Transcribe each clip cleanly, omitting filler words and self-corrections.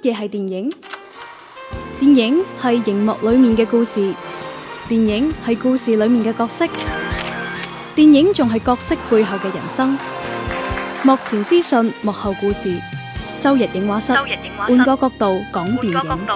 嘢係電影？電影係熒幕裏面嘅故事，電影係故事裏面嘅角色，電影仲係角色背後嘅人生。幕前資訊，幕後故事。周日映畫室，換個角度講電影。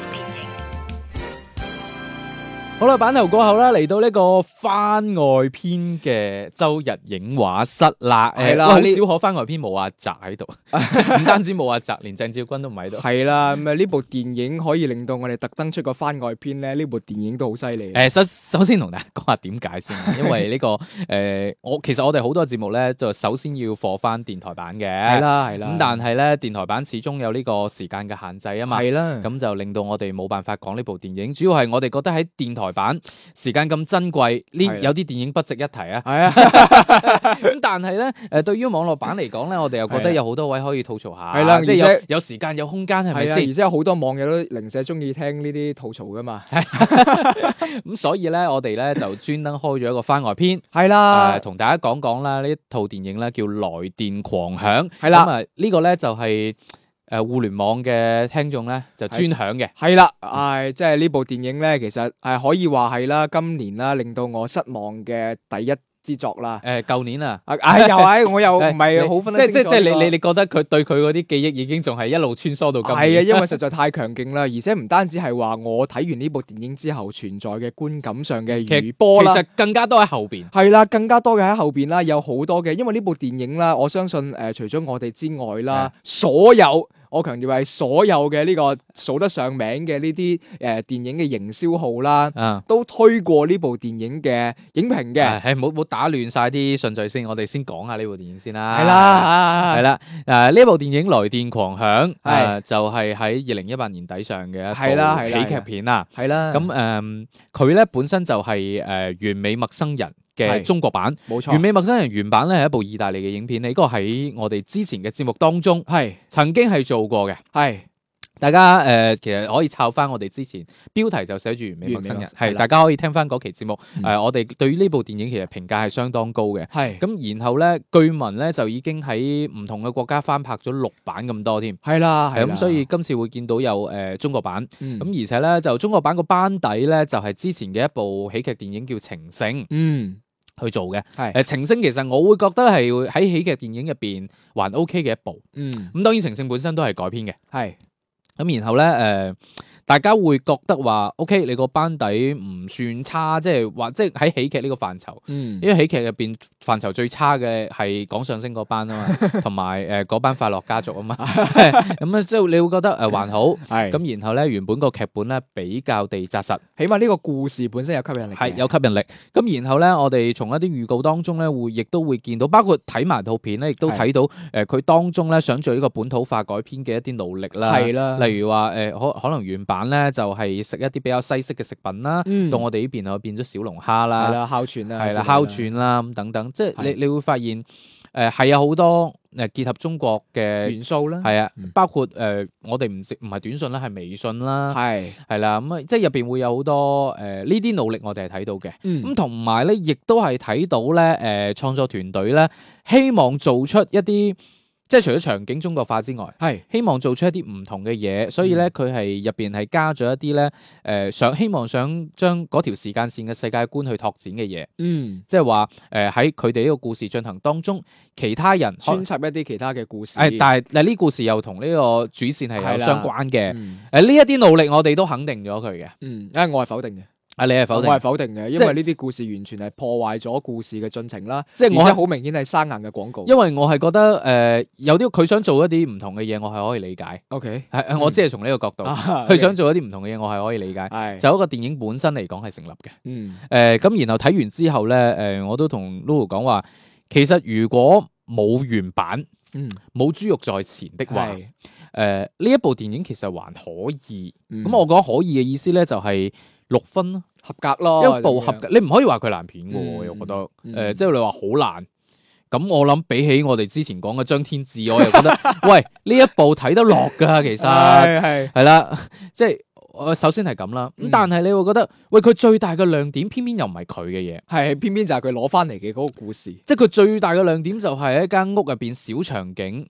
好啦，版頭過後啦，嚟到呢個番外篇嘅周日映畫室啦。係啦，好少可番外篇冇阿澤喺度，唔單止冇阿澤，連鄭少君都唔喺度。 係啦，咁啊呢部電影可以令到我哋特登出個番外篇咧，呢部電影都好犀利。 首先同大家講下點解先，因為呢個其實我哋好多節目咧，就首先要放翻電台版嘅。係啦。咁但係咧，電台版始終有呢個時間嘅限制啊嘛。係啦。咁就令到我哋冇辦法講呢部電影，主要係我哋覺得喺電台版時間咁珍貴，有啲電影不值一提啊。係啊。咁但係咧，對於網絡版嚟講咧，我哋又覺得有好多位可以吐槽下。係啦，即係有時間有空間，係咪先？ 而且有好多網友都零舍中意聽呢啲吐槽噶嘛。 咁所以咧，我哋咧就專登開咗一個番外篇。係啦，同大家講講啦，呢套電影咧叫《來電狂響》。係啦，咁啊呢個咧就係互聯網嘅聽眾咧就專享嘅。係啦， 即係呢部電影咧，其實可以話係啦，今年啦令到我失望嘅第一之作啦。 舊年啊， 我又唔係好分得清楚。 即係你覺得佢對佢嗰啲記憶已經仲係一路穿梭到今年。 係啊，因為實在太強勁啦，而且唔單止係話我睇完呢部電影之後存在嘅觀感上嘅餘波啦， 其實更加多喺後邊。 係啦，更加多嘅喺後邊啦，有好多嘅，因為呢部電影啦，我相信除咗我哋之外啦，所有。我強調係所有嘅呢個數得上名嘅呢啲電影嘅營銷號啦，都推過呢部電影嘅影評嘅。 冇打亂晒啲順序先，我哋先講下呢部電影先啦。 係啦， 呢部電影《來電狂響》就係喺2018年底上嘅一部喜劇片啦。係啦，咁佢咧本身就係完美陌生人嘅中國版。冇錯，完美陌生人原版咧係一部意大利嘅影片，呢個喺我哋之前嘅節目當中曾經係做過嘅。係大家其實可以抄翻我哋之前標題就寫住完美陌生人，係大家可以聽翻嗰期節目。我哋對於呢部電影其實評價係相當高嘅。係咁，然後咧據聞咧就已經喺唔同嘅國家翻拍咗6版咁多添。係啦，咁所以今次會見到有中國版。咁而且咧就中國版個班底咧就係之前嘅一部喜劇電影叫《情聖》。去做嘅。情聖其實我會覺得係喺喜劇電影入邊還 OK 嘅一部。咁當然情聖本身都係改編嘅。係咁然後咧大家會覺得話 OK， 你個班底唔算差，即係喺喜劇呢個範疇。因為喜劇入邊範疇最差嘅係講相聲嗰班啊嘛，同埋嗰班快樂家族啊嘛。咁啊，即係你會覺得還好。咁然後咧，原本個劇本咧比較地紮實， 起碼呢個故事本身有吸引力。 係有吸引力。咁然後咧，我哋從一啲預告當中咧，亦都會見到，包括睇埋套片咧，亦都睇到佢當中咧想做呢個本土化改編嘅一啲努力啦。係啦，例如話可能原版咧就係食一啲比較西式嘅食品啦，到我哋呢邊就變咗小龍蝦啦，係啦，烤串啦，係啦，烤串啦咁等等，即係你會發現係有好多結合中國嘅元素啦， 係啊，包括我哋唔係短信啦，係微信啦，係啦，咁啊即係入邊會有好多呢啲努力我哋係睇到嘅。咁同埋咧亦都係睇到咧創作團隊咧希望做出一啲。即係除咗場景中國化之外，希望做出一啲唔同嘅嘢，所以咧佢係入邊係加咗一啲咧希望想將嗰條時間線嘅世界觀去拓展嘅嘢。即係話喺佢哋呢個故事進行當中，其他人穿插一啲其他嘅故事。 但係呢故事又同呢個主線係有相關嘅。呢一啲努力我哋都肯定咗佢嘅。 我係否定嘅。 你係否定？ 我係否定嘅，因為呢啲故事完全係破壞咗故事嘅進程啦。即係而且好明顯係生硬嘅廣告。 因為我係覺得有啲佢想做一啲唔同嘅嘢，我係可以理解。OK，我只係從呢個角度，佢想做一啲唔同嘅嘢，我係可以理解。就一個電影本身嚟講係成立嘅。咁然後睇完之後咧，我都同 Lulu 講話，其實如果冇原版，冇豬肉在前的話，呢一部電影其實還可以。咁我講可以嘅意思咧，就係6分咯， 合格咯， 一部合格。你唔可以話佢爛片嘅，我又覺得，即係你話好爛。咁我諗比起我哋之前講嘅張天志，我又覺得，喂，呢一部睇得落噶，其實係啦，即係。首先係咁啦，咁但係你會覺得，喂，佢最大嘅亮點偏偏又唔係佢嘅嘢， 係偏偏就係佢攞翻嚟嘅嗰個故事， 即係佢最大嘅亮點就係一間屋入邊小場景，係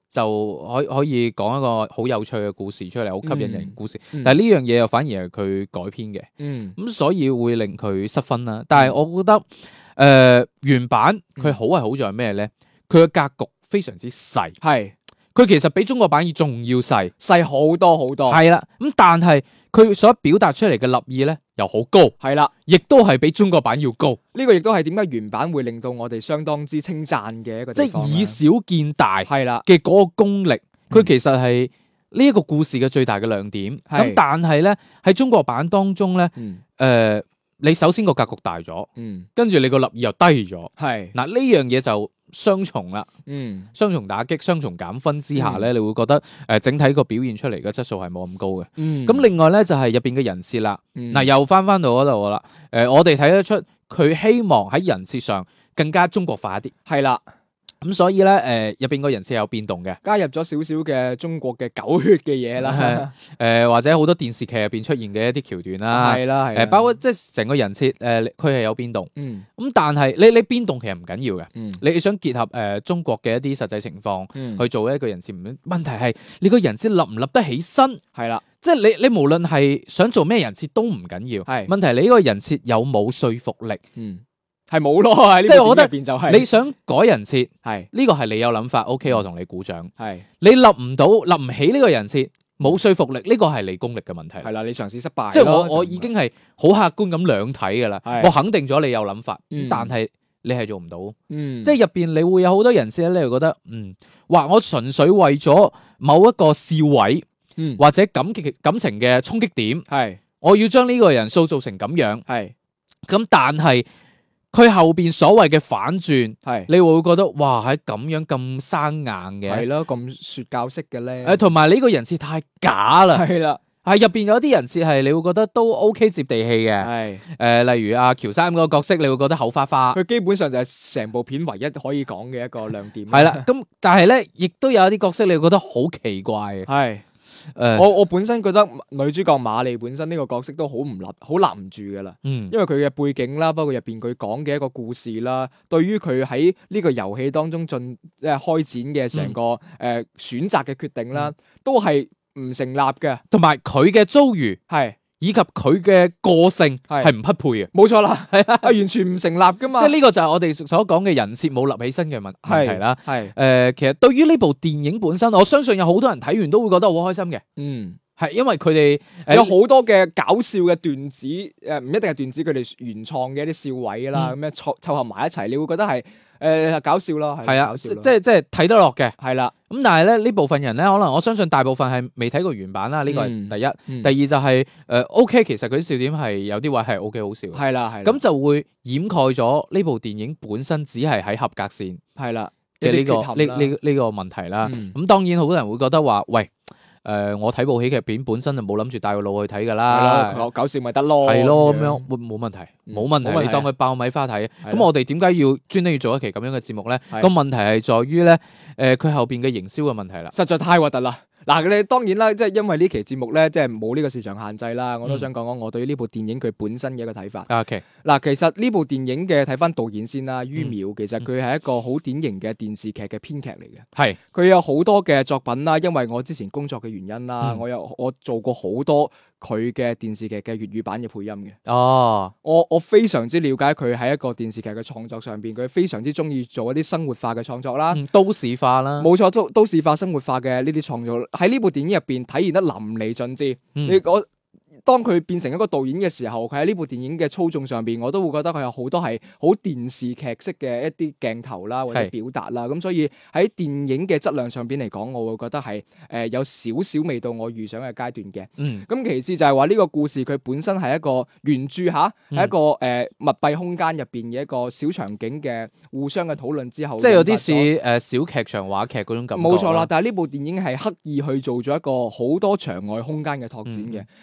就可以講一個好有趣嘅故事出嚟，好吸引人嘅故事。但係呢樣嘢又反而係佢改編嘅，咁所以會令佢失分啦。但係我覺得原版佢好係好在咩咧？佢嘅格局非常之細，係佢其實比中國版仲要細好多好多。 係啦，咁但係佢所表達出嚟嘅立意咧又好高，係啦，亦都係比中國版要高。 呢個亦都係點解原版會令到我哋相當之稱讚嘅一個地方， 即係以小見大係啦嘅嗰個功力，佢其實係呢一個故事嘅最大嘅亮點。咁但係咧喺中國版當中咧，你首先個格局大咗，跟住你個立意又低咗，係嗱呢樣嘢就雙重啦，雙重打擊、雙重減分之下咧，你會覺得整體個表現出嚟嘅質素係冇咁高嘅。咁另外咧就係入邊嘅人設啦，嗱又翻到嗰度啦，我哋睇得出佢希望喺人設上更加中國化一啲，係啦。咁所以咧，入邊個人設有變動嘅，加入咗少少嘅中國嘅狗血嘅嘢啦，或者好多電視劇入邊出現嘅一啲橋段啦，係啦，包括即係成個人設，佢係有變動，咁但係你變動其實唔緊要嘅，你想結合中國嘅一啲實際情況去做一個人設，問題係你個人設立唔立得起身，係啦，即係你無論係想做咩人設都唔緊要，係問題你呢個人設有冇說服力，係冇咯，即係我覺得就係你想改人設，係呢個係你有諗法，OK，我同你鼓掌。係你立唔起呢個人設，冇說服力，呢個係你功力嘅問題。係啦，你嘗試失敗。即係我已經係好客觀咁兩睇噶啦，我肯定咗你有諗法，但係你係做唔到。即係入邊你會有好多人設咧，你會覺得話我純粹為咗某一個笑位，或者感情嘅衝擊點，係我要將呢個人塑造成咁樣，係咁，但係。佢後邊所謂嘅反轉，係你會覺得哇，喺咁樣咁生硬嘅，係咯，咁說教式嘅咧，同埋呢個人設太假啦，係啦，係入邊有啲人設係你會覺得都 OK 接地氣嘅，係例如阿喬三嗰個角色，你會覺得口花花，佢基本上就係成部片唯一可以講嘅一個亮點，係啦，咁但係咧，亦都有一啲角色你會覺得好奇怪嘅，係。我本身覺得女主角馬莉本身呢個角色都好立唔住噶啦，因為佢嘅背景啦，包括入邊佢講嘅一個故事啦，對於佢喺呢個遊戲當中開展嘅成個選擇嘅決定啦，都係唔成立嘅，同埋佢嘅遭遇係。以及佢嘅個性係唔匹配嘅，冇錯啦，係啊，完全唔成立噶嘛。即係呢個就係我哋所講嘅人設冇立起身嘅問題啦。係其實對於呢部電影本身，我相信有好多人睇完都會覺得好開心嘅。係因為佢哋有好多嘅搞笑嘅段子，唔一定係段子，佢哋原創嘅一啲笑位啦，咁樣湊合埋一齊，你會覺得係搞笑咯。係啊，即係睇得落嘅。係啦，咁但係咧呢部分人咧，可能我相信大部分係未睇過原版啦。呢個係第一，第二就係OK，其實佢啲笑點係有啲位係 OK 好笑。係啦，係咁就會掩蓋咗呢部電影本身只係喺合格線。係啦嘅呢個問題啦。咁當然好多人會覺得話，喂。我睇部喜劇片本身就冇諗住帶個腦去睇噶啦，搞笑咪得咯，係咯咁樣冇問題，冇問題，你當佢爆米花睇。咁我哋點解要專登要做一期咁樣嘅節目咧？個問題係在於咧，佢後邊嘅營銷嘅問題啦，實在太核突啦。嗱，你當然啦，即係因為呢期節目咧，即係冇呢個市場限制啦。我都想講講我對於呢部電影佢本身嘅一個睇法。OK，嗱，其實呢部電影嘅睇翻導演先啦，于淼，其實佢係一個好典型嘅電視劇嘅編劇嚟嘅。係，佢有好多嘅作品啦，因為我之前工作嘅原因啦，我做過好多佢嘅電視劇嘅粵語版嘅配音嘅。哦，我非常之了解佢喺一個電視劇嘅創作上邊，佢非常之中意做一啲生活化嘅創作啦，都市化啦，冇錯，都市化、生活化嘅呢啲創作喺呢部電影入邊體現得淋漓盡致。當佢變成一個導演嘅時候，佢喺呢部電影嘅操縱上邊，我都會覺得佢有好多係好電視劇式嘅一啲鏡頭啦，或者表達啦。咁所以喺電影嘅質量上邊嚟講，我會覺得係有少少未到我預想嘅階段嘅。咁其次就係話呢個故事佢本身係一個原著係一個密閉空間入邊嘅一個小場景嘅互相嘅討論之後，即係有啲似小劇場話劇嗰種感覺。冇錯啦，但係呢部電影係刻意去做咗一個好多場外空間嘅拓展嘅，包括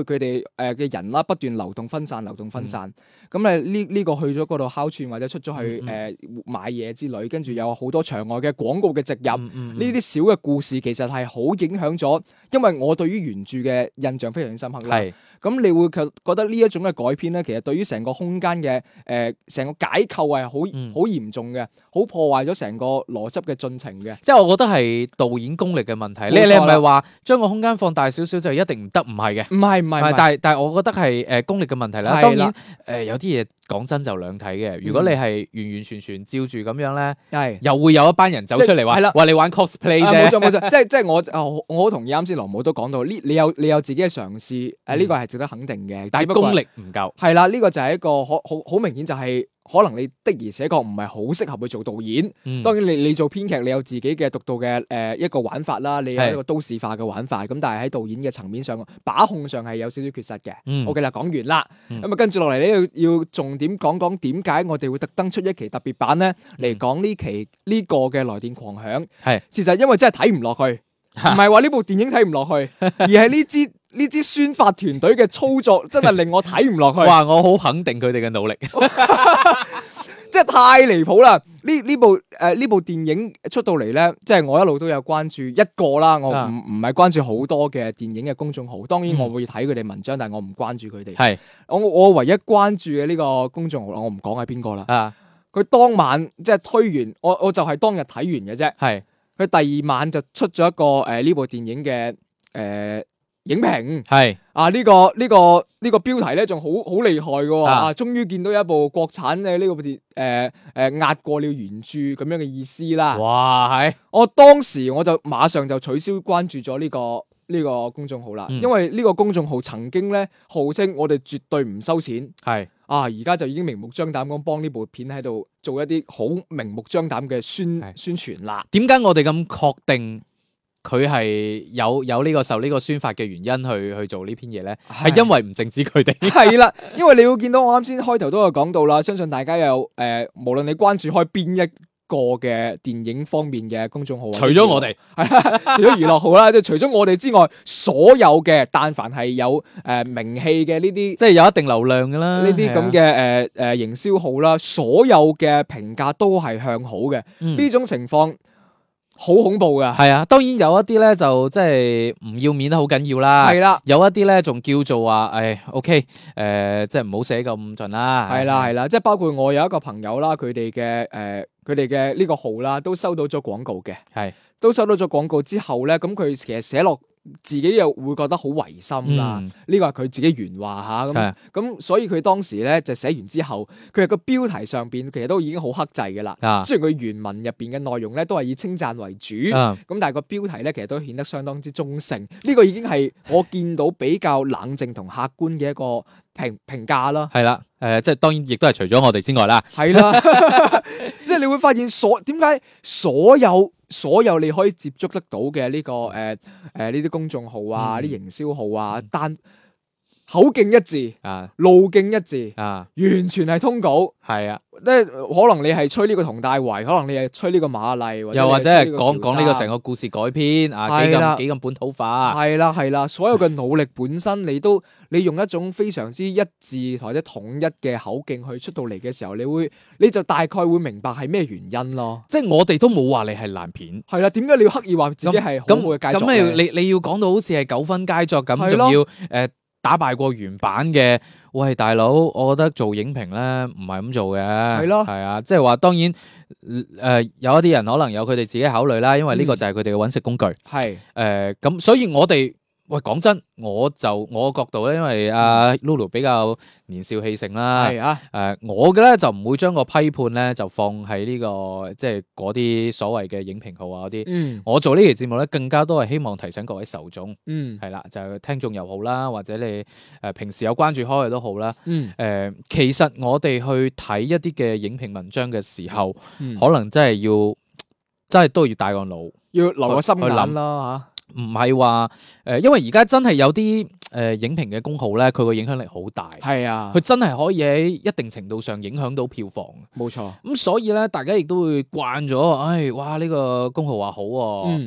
佢哋嘅人啦不斷流動分散。咁呢個去咗嗰度烤串或者出咗去買嘢之類，跟住有好多場外嘅廣告嘅植入，呢啲小嘅故事其實係好影響咗，因為我對於原著嘅印象非常深刻啦。咁你會覺得呢一種嘅改編咧，其實對於成個空間嘅成個解構係好嚴重嘅，好破壞咗成個邏輯嘅進程嘅。 即係我覺得係導演功力嘅問題。你唔係話將個空間放大少少就一定唔得？唔係嘅，唔係。但係我覺得係功力嘅問題啦。當然有啲嘢講真就兩睇嘅。如果你係完完全全照住咁樣咧，又會有一班人走出嚟話你玩 cosplay 啫。 冇錯，即係我好同意啱先羅姆都講到呢，你有自己嘅嘗試，呢個係值得肯定嘅。 但係功力唔夠。 係啦，呢個就係一個好明顯就係。可能你的而且確唔係好適合去做導演。當然你做編劇，你有自己嘅獨到嘅一個玩法啦，你有一個都市化嘅玩法。咁但係喺導演嘅層面上，把控上係有少少缺失嘅。OK 啦，講完啦。咁跟住落嚟咧，要重點講點解我哋會特登出一期特別版咧，嚟講呢期呢個嘅來電狂響。事實因為真係睇唔落去，唔係話呢部電影睇唔落去，而係呢支宣發團隊嘅操作真係令我睇唔落去。 哇！我好肯定佢哋嘅努力， 即係太離譜啦！呢部電影出到嚟咧，即係我一路都有關注一個啦，我唔係關注好多嘅電影嘅公眾號。當然我會睇佢哋文章，但係我唔關注佢哋。係我唯一關注嘅呢個公眾號，我唔講係邊個啦。佢當晚即係推完，我就係當日睇完嘅啫。係佢第二晚就出咗一個呢部電影嘅影評。係呢個標題咧仲好厲害嘅。終於見到一部國產嘅呢個電壓過了原著咁樣嘅意思啦。哇！係我當時我就馬上就取消關注咗呢個公眾號啦。因為呢個公眾號曾經咧號稱我哋絕對唔收錢。係而家就已經明目張膽咁幫呢部片喺度做一啲好明目張膽嘅宣傳啦。點解我哋咁確定佢係有呢個受呢個宣發嘅原因去做呢篇嘢咧？係因為唔淨止佢哋。係啦，因為你會見到我啱先開頭都有講到啦，相信大家有無論你關注開邊一個嘅電影方面嘅公眾號，除咗我哋，除咗娛樂號啦，即係除咗我哋之外，所有嘅但凡係有名氣嘅呢啲，即係有一定流量㗎啦，呢啲咁嘅營銷號啦，所有嘅評價都係向好嘅。呢種情況好恐怖噶。係啊，當然有一啲咧就即係唔要面得好緊要啦。係啦，有一啲咧仲叫做話OK，即係唔好寫咁盡啦。係啦，即係包括我有一個朋友啦，佢哋嘅呢個號啦，都收到咗廣告嘅。係都收到咗廣告之後咧，咁佢其實寫落自己又會覺得好違心啦。呢個係佢自己原話吓。咁所以佢當時咧就寫完之後，佢係個標題上邊其實都已經好克制嘅啦。雖然佢原文入邊嘅內容咧都係以稱讚為主，咁但係個標題咧其實都顯得相當之中性。呢個已經係我見到比較冷靜同客觀嘅一個評價啦。係啦，即係當然亦都係除咗我哋之外啦。係啦，即係你會發現點解所有你可以接觸得到嘅呢個呢啲公眾號啊，啲營銷號啊，但口徑一致路徑一致完全係通稿。係啊，即係可能你係吹呢個佟大為，可能你係吹呢個馬麗，又或者係講呢個成個故事改編幾咁本土化。係啦，所有嘅努力本身你用一種非常之一致或者統一嘅口徑去出到嚟嘅時候，你就大概會明白係咩原因咯。即係我哋都冇話你係爛片。係啦，點解你要刻意話自己係好嘅佳作？咁你要講到好似係9分佳作咁，仲要打敗過原版嘅？喂，大佬，我覺得做影評咧唔係咁做嘅。係咯，係啊，即係話當然有一啲人可能有佢哋自己考慮啦，因為呢個就係佢哋嘅揾食工具。係咁，所以我哋講真，我角度咧，因為Lulu 比較年少氣盛啦。係我嘅咧就唔會將個批判咧就放喺呢個即係嗰啲所謂嘅影評號啊嗰啲。我做呢期節目咧，更加多係希望提醒各位受眾。係啦，就聽眾又好啦，或者你平時有關注開嘅都好啦。其實我哋去睇一啲嘅影評文章嘅時候，可能真係都要帶個腦，要留個心眼啦吓。唔係話因為而家真係有啲影評嘅公號咧，佢個影響力好大。係啊，佢真係可以喺一定程度上影響到票房。冇錯。咁所以咧，大家亦都會慣咗，哇呢個公號話好，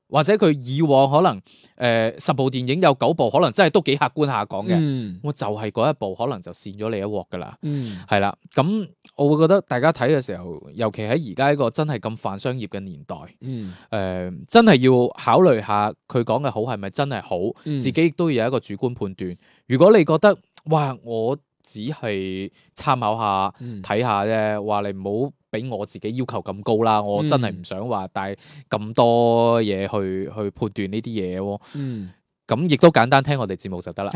或者佢以往可能10部電影有9部可能真係都幾客觀下講嘅，我就係嗰一部可能就跣咗你一鑊噶啦，係啦，咁我會覺得大家睇嘅時候，尤其喺而家一個真係咁泛商業嘅年代，真係要考慮下佢講嘅好係咪真係好，自己亦都要有一個主觀判斷。如果你覺得哇，我只係參考下睇下啫，話你唔好俾我自己要求咁高啦，我真係唔想話帶咁多嘢去判斷呢啲嘢喎。咁亦都簡單聽我哋節目就得啦。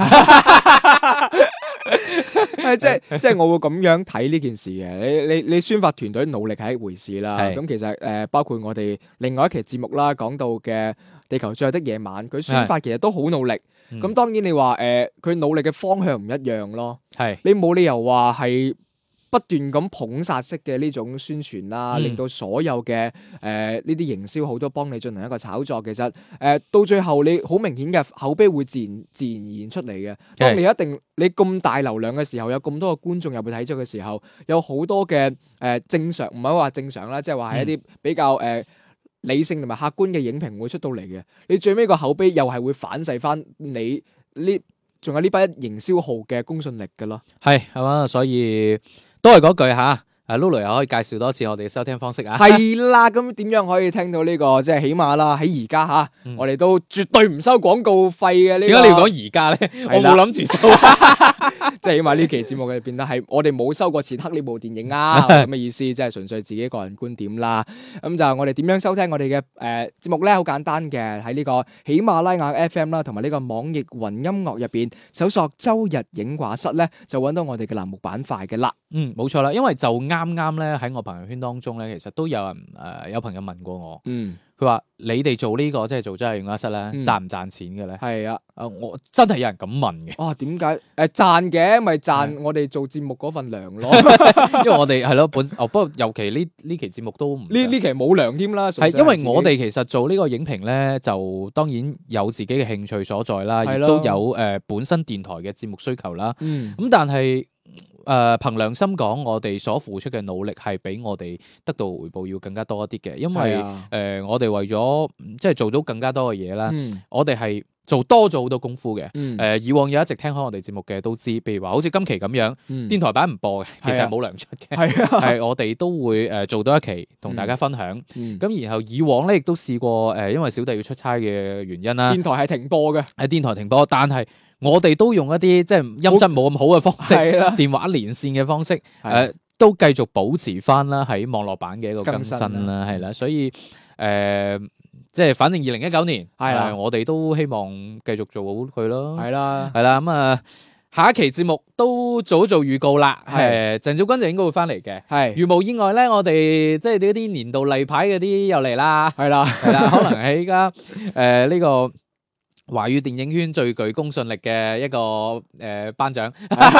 即係我會咁樣睇呢件事嘅。你宣發團隊努力係一回事啦。咁其實包括我哋另外一期節目啦，講到嘅地球最後的夜晚，佢宣發其實都好努力。咁當然你話佢努力嘅方向唔一樣咯。你冇理由話係不斷咁捧殺式嘅呢種宣傳啦，令到所有嘅呢啲營銷號都幫你進行一個炒作。其實到最後你好明顯嘅口碑會自然而然出嚟嘅。當你咁大流量嘅時候，有咁多嘅觀眾入去睇咗嘅時候，有好多嘅正常，唔係話正常啦，即係話係一啲比較理性同埋客觀嘅影評會出到嚟嘅。你最尾個口碑又係會反噬翻你呢，仲有呢班營銷號嘅公信力㗎咯。係嘛，所以都係嗰句吓，Lulu 又可以介紹多次我哋嘅收聽方式啊。 係啦，咁點樣可以聽到呢個？即係起碼啦，喺而家吓，我哋都絕對唔收廣告費嘅呢個。點解你要講而家咧？我冇諗住收。即係起碼呢期節目嘅變得係我哋冇收過錢黑呢部電影啊，咁嘅意思，即係純粹自己個人觀點啦。咁就我哋點樣收聽我哋嘅節目咧？好簡單嘅，喺呢個喜馬拉雅 FM 啦，同埋呢個網易雲音樂入邊搜索周日映畫室咧，就揾到我哋嘅欄目板塊嘅啦。 冇錯啦，因為就啱啱咧喺我朋友圈當中咧，其實都有人有朋友問過我，佢話你哋做呢個即係做周日映畫室咧，賺唔賺錢嘅咧？係啊，我真係有人咁問嘅。哦，點解？賺嘅，咪賺我哋做節目嗰份糧咯。因為我哋係咯不過尤其呢期節目都唔呢期冇糧添啦。係因為我哋其實做呢個影評咧，就當然有自己嘅興趣所在啦，亦都有本身電台嘅節目需求啦。咁但係憑良心講，我哋所付出嘅努力係比我哋得到回報要更加多一啲嘅，因為我哋為咗即係做到更加多嘅嘢啦，我哋係做多咗好多功夫嘅。以往有一直聽開我哋節目嘅都知，譬如話好似今期咁樣，電台版唔播嘅，其實係冇糧出嘅，係我哋都會做多一期同大家分享。咁然後以往咧亦都試過因為小弟要出差嘅原因啦，電台係停播嘅，喺電台停播，但係我哋都用一啲即係音質冇咁好嘅方式，電話連線嘅方式，都繼續保持翻啦喺網絡版嘅一個更新啦，係啦，所以即係反正2019年，我哋都希望繼續做好佢咯，係啦，咁下一期節目都做預告啦，鄭少君就應該會翻嚟嘅，如無意外咧，我哋即係呢啲年度例牌嗰啲又嚟啦，係啦，可能喺而家呢個華語電影圈最具公信力嘅一個頒獎，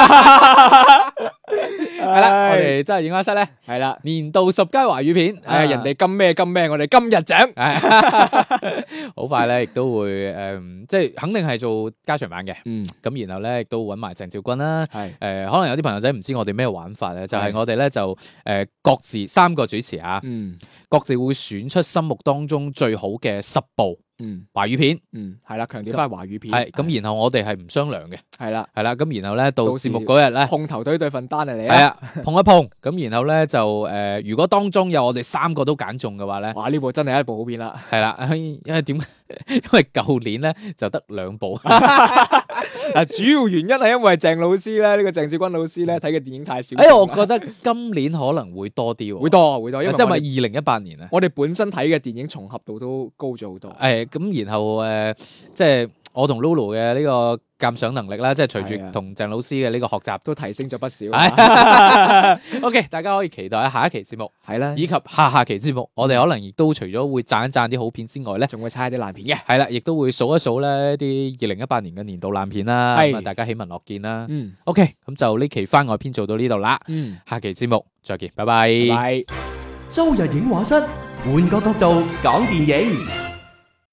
係啦，我哋真係映畫室咧，係啦，年度10佳華語片，人哋金咩，我哋金日獎，好快咧，亦都會即係肯定係做加長版嘅，咁然後咧亦都揾埋鄭少君啦，可能有啲朋友仔唔知我哋咩玩法咧，就係我哋咧就各自3個主持啊，各自會選出心目當中最好嘅10部。華語片，係啦，強調翻華語片，係咁，然後我哋係唔商量嘅，係啦，咁然後咧到節目嗰日咧，碰頭對份單嚟，係啊，碰一碰，咁然後咧就如果當中有我哋3個都揀中嘅話咧，哇，呢部真係一部好片啦，係啦，因為點？因為舊年咧就得2部，主要原因係因為鄭老師咧，呢個鄭少君老師咧睇嘅電影太少，我覺得今年可能會多啲，會多，因為即係咪2018年啊？我哋本身睇嘅電影重合度都高咗好多，咁然後即係我同 Lulu 嘅呢個鑑賞能力啦，即係隨住同鄭老師嘅呢個學習都提升咗不少。OK， 大家可以期待下一期節目，係啦，以及下期節目，我哋可能亦都除咗會讚一讚啲好片之外咧，仲會猜啲爛片嘅，係啦，亦都會數一數咧啲2018年嘅年度爛片啦，咁啊大家喜聞樂見啦。OK，咁就呢期番外篇做到呢度啦，下期節目再見，拜拜。周日映畫室，換個角度講電影。